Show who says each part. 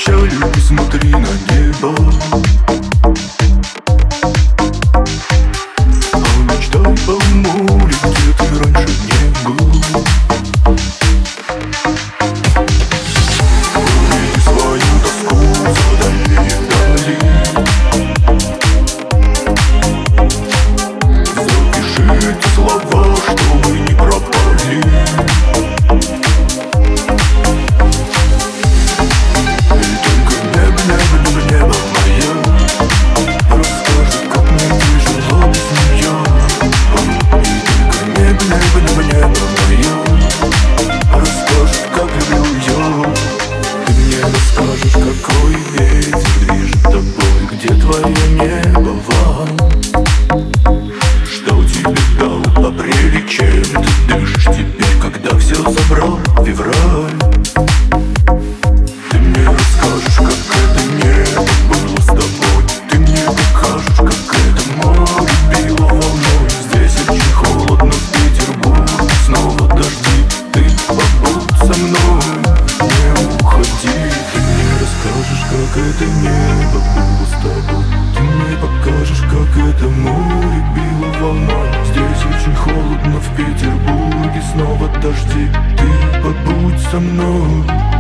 Speaker 1: печали и смотри на небо. А мечтай о море, где ты раньше не был. Увиди свою тоску за дальние дали. Запиши эти слова, чтобы не пропали. Расскажешь, какой ветер движет тобой, где твое небо, что тебе дал апрель и чем ты дышишь теперь, когда все забрал февраль. Ты мне расскажешь, как это небо было с тобой. Ты мне покажешь, как это море било волной. Здесь очень холодно, в Петербурге снова дожди. Ты побудь со мной, не уходи. Ты мне расскажешь, как это небо было с тобой. Ты мне покажешь, как это море било волной. Здесь очень холодно, в Петербурге снова дожди. Ты побудь со мной.